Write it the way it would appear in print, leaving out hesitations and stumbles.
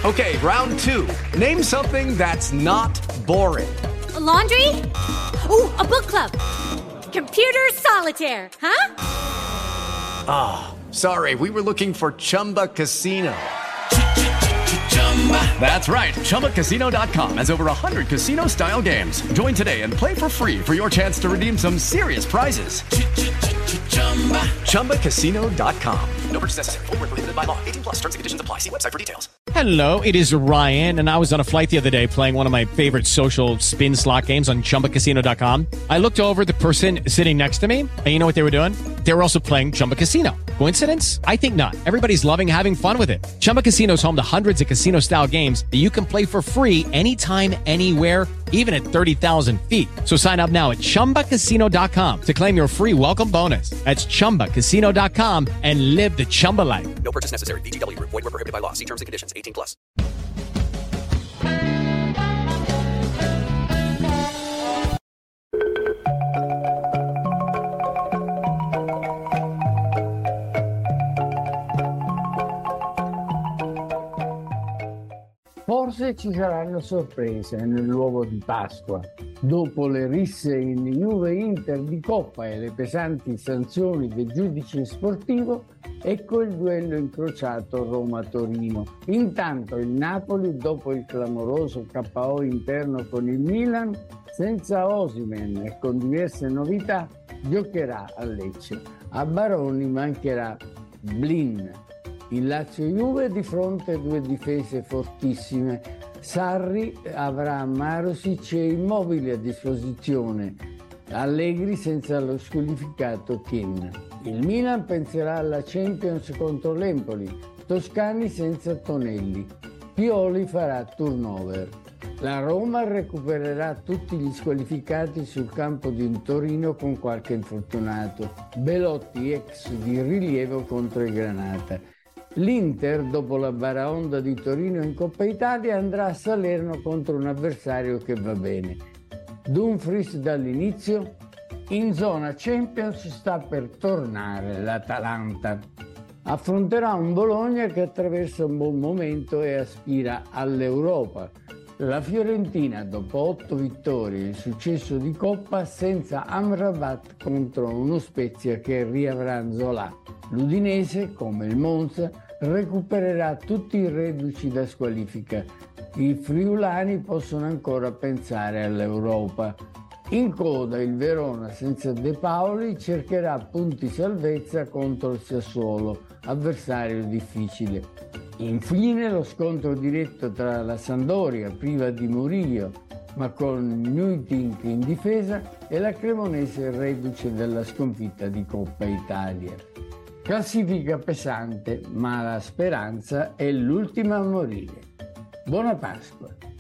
Okay, round two. Name something that's not boring. A laundry? Ooh, a book club. Computer solitaire, huh? Ah, sorry, we were looking for Chumba Casino. That's right, ChumbaCasino.com has over 100 casino-style games. Join today and play for free for your chance to redeem some serious prizes. ChumbaCasino.com. No purchase necessary. Void where prohibited by law. 18 plus. Terms and conditions apply. See website for details. Hello, it is Ryan, and I was on a flight the other day playing one of my favorite social spin slot games on ChumbaCasino.com. I looked over at the person sitting next to me, and you know what they were doing? They were also playing Chumba Casino. Coincidence? I think not. Everybody's loving having fun with it. Chumba Casino is home to hundreds of casino-style games that you can play for free anytime, anywhere, even at 30,000 feet. So sign up now at ChumbaCasino.com to claim your free welcome bonus. That's ChumbaCasino.com and live the Chumba life. No purchase necessary. VGW. Void where prohibited by law. See terms and conditions. 18 plus. Forse ci saranno sorprese nell'uovo di Pasqua. Dopo le risse in Juve-Inter di Coppa e le pesanti sanzioni del giudice sportivo, ecco il duello incrociato Roma-Torino. Intanto il Napoli, dopo il clamoroso KO interno con il Milan, senza Osimhen e con diverse novità, giocherà a Lecce. A Baroni mancherà Blin. Il Lazio-Juve di fronte a due difese fortissime. Sarri avrà Marusic e Immobile a disposizione. Allegri senza lo squalificato Ken. Il Milan penserà alla Champions contro l'Empoli. Toscani senza Tonelli. Pioli farà turnover. La Roma recupererà tutti gli squalificati sul campo di Torino con qualche infortunato. Belotti ex di rilievo contro il Granata. L'Inter, dopo la baraonda di Torino in Coppa Italia, andrà a Salerno contro un avversario che va bene. Dumfries dall'inizio. In zona Champions sta per tornare l'Atalanta. Affronterà un Bologna che attraversa un buon momento e aspira all'Europa. La Fiorentina, dopo 8 vittorie e il successo di Coppa, senza Amrabat contro uno Spezia che riavrà Nzola. L'Udinese, come il Monza, recupererà tutti i reduci da squalifica. I friulani possono ancora pensare all'Europa. In coda il Verona senza De Paoli cercherà punti salvezza contro il Sassuolo, avversario difficile. Infine lo scontro diretto tra la Sampdoria, priva di Murillo, ma con Nuitink in difesa, e la Cremonese reduce dalla sconfitta di Coppa Italia. Classifica pesante, ma la speranza è l'ultima a morire. Buona Pasqua!